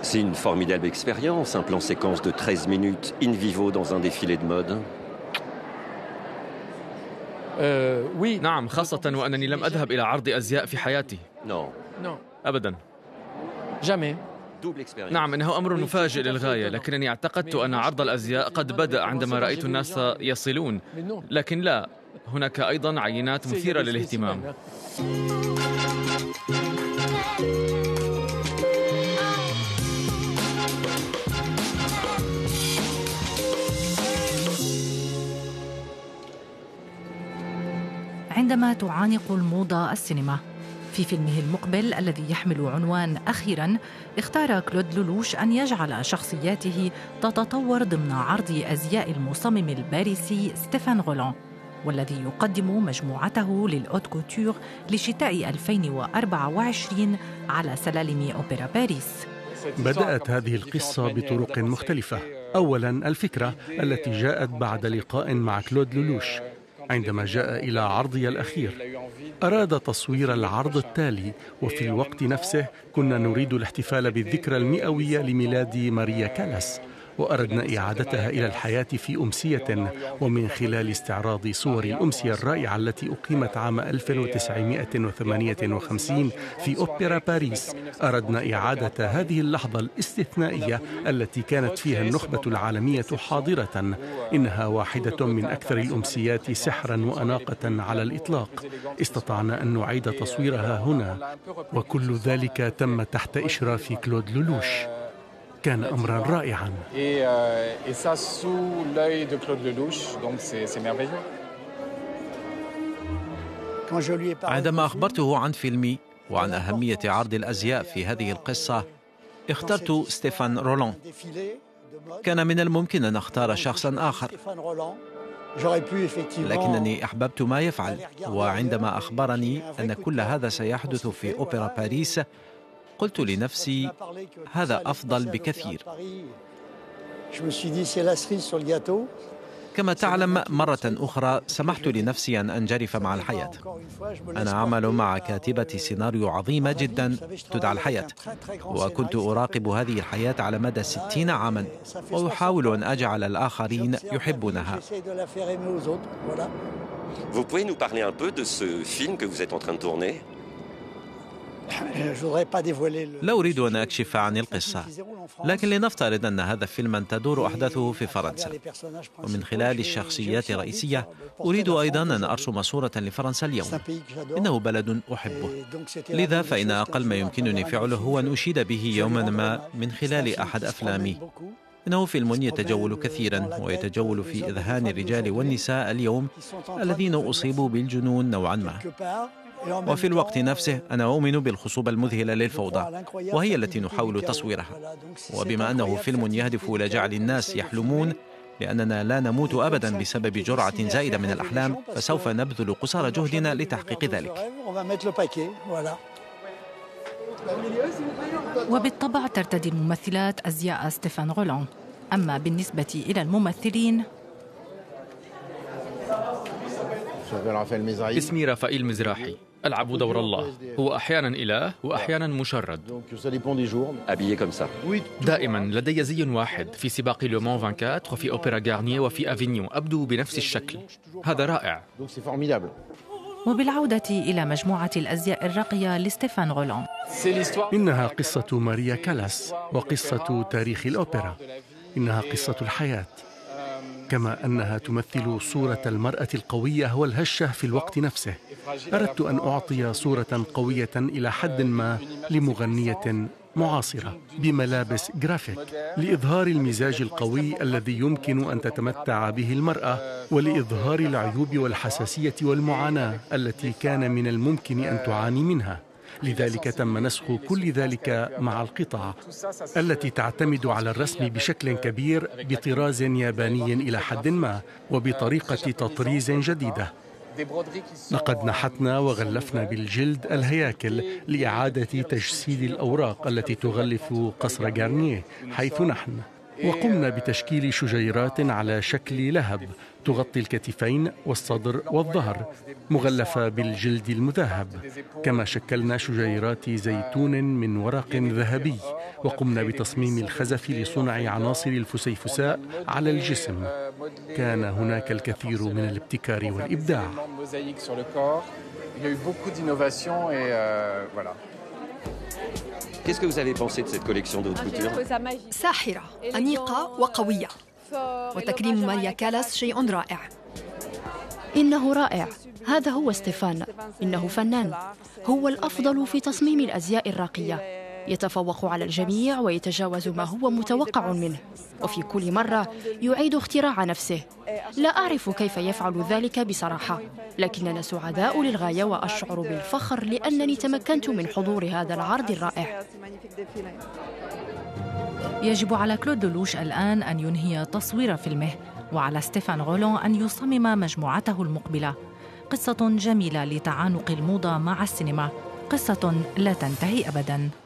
C'est une formidable expérience, un plan séquence de 13 minutes in vivo dans un défilé de mode. نعم، خاصة وأنني لم أذهب إلى عرض أزياء في حياتي. Non. أبدا. Jamais. نعم، إنه أمر مفاجئ للغاية، لكنني اعتقدت أن عرض الأزياء قد بدأ عندما رأيت الناس يصلون، لكن لا، هناك أيضا عينات مثيرة للاهتمام. عندما تعانق الموضة السينما. في فيلمه المقبل الذي يحمل عنوان أخيراً، اختار كلود لولوش أن يجعل شخصياته تتطور ضمن عرض أزياء المصمم الباريسي ستيفان غولان، والذي يقدم مجموعته للأوت كوتور لشتاء 2024 على سلالم أوبرا باريس. بدأت هذه القصة بطرق مختلفة. أولاً الفكرة التي جاءت بعد لقاء مع كلود لولوش. عندما جاء إلى عرضي الأخير أراد تصوير العرض التالي، وفي الوقت نفسه كنا نريد الاحتفال بالذكرى المئوية لميلاد ماريا كالاس، وأردنا إعادتها إلى الحياة في أمسية، ومن خلال استعراض صور الأمسية الرائعة التي أقيمت عام 1958 في أوبرا باريس، أردنا إعادة هذه اللحظة الاستثنائية التي كانت فيها النخبة العالمية حاضرة. إنها واحدة من أكثر الأمسيات سحرا وأناقة على الإطلاق. استطعنا أن نعيد تصويرها هنا، وكل ذلك تم تحت إشراف كلود لولوش. كان أمرا رائعا. عندما أخبرته عن فيلمي وعن أهمية عرض الأزياء في هذه القصة، اخترت ستيفان رولان. كان من الممكن أن أختار شخصا آخر، لكنني أحببت ما يفعل. وعندما أخبرني أن كل هذا سيحدث في أوبرا باريس، قلت لنفسي هذا أفضل بكثير. كما تعلم، مرة أخرى سمحت لنفسي أن أنجرف مع الحياة. أنا أعمل مع كاتبة سيناريو عظيمة جدا تدعى الحياة، وكنت أراقب هذه الحياة على مدى 60 عاما، وأحاول أن أجعل الآخرين يحبونها. Vous pouvez nous parler un peu de ce film que vous êtes en train de tourner? لا أريد أن أكشف عن القصة، لكن لنفترض أن هذا فيلما تدور أحداثه في فرنسا، ومن خلال الشخصيات الرئيسية أريد أيضا أن أرسم صورة لفرنسا اليوم. إنه بلد أحبه، لذا فإن أقل ما يمكنني فعله هو أن أشيد به يوما ما من خلال أحد أفلامي. إنه فيلم يتجول كثيرا، ويتجول في إذهان الرجال والنساء اليوم الذين أصيبوا بالجنون نوعا ما. وفي الوقت نفسه أنا أؤمن بالخصوبة المذهلة للفوضى، وهي التي نحاول تصويرها. وبما أنه فيلم يهدف إلى جعل الناس يحلمون، لأننا لا نموت أبدا بسبب جرعة زائدة من الأحلام، فسوف نبذل قصارى جهدنا لتحقيق ذلك. وبالطبع ترتدي الممثلات أزياء ستيفان غولان. أما بالنسبة إلى الممثلين، اسمي رافائيل مزراحي، ألعب دور الله. هو أحيانا إله وأحيانا مشرد. دائما لدي زي واحد في سباق لومان 24 وفي أوبرا غارنييه وفي أفينيون، أبدو بنفس الشكل. هذا رائع. وبالعودة إلى مجموعة الأزياء الراقية لستيفان غولان، إنها قصة ماريا كالاس وقصة تاريخ الأوبرا. إنها قصة الحياة، كما أنها تمثل صورة المرأة القوية والهشة في الوقت نفسه. أردت أن أعطي صورة قوية إلى حد ما لمغنية معاصرة بملابس جرافيك، لإظهار المزاج القوي الذي يمكن أن تتمتع به المرأة، ولإظهار العيوب والحساسية والمعاناة التي كان من الممكن أن تعاني منها. لذلك تم نسخ كل ذلك مع القطع التي تعتمد على الرسم بشكل كبير بطراز ياباني إلى حد ما، وبطريقة تطريز جديدة. لقد نحتنا وغلفنا بالجلد الهياكل لإعادة تجسيد الأوراق التي تغلف قصر غارنييه حيث نحن. وقمنا بتشكيل شجيرات على شكل لهب تغطي الكتفين والصدر والظهر مغلفة بالجلد المذهب. كما شكلنا شجيرات زيتون من ورق ذهبي، وقمنا بتصميم الخزف لصنع عناصر الفسيفساء على الجسم. كان هناك الكثير من الابتكار والإبداع. Qu'est-ce que vous avez pensé de cette collection de haute couture? ساحرة، أنيقة وقوية، وتكريم ماريا كالاس شيء رائع. إنه رائع، هذا هو ستيفان، إنه فنان، هو الأفضل في تصميم الأزياء الراقية، يتفوق على الجميع ويتجاوز ما هو متوقع منه، وفي كل مرة يعيد اختراع نفسه. لا أعرف كيف يفعل ذلك بصراحة، لكننا سعداء للغاية وأشعر بالفخر لأنني تمكنت من حضور هذا العرض الرائع. يجب على كلود لولوش الآن أن ينهي تصوير فيلمه، وعلى ستيفان غولون أن يصمم مجموعته المقبلة. قصة جميلة لتعانق الموضة مع السينما، قصة لا تنتهي أبداً.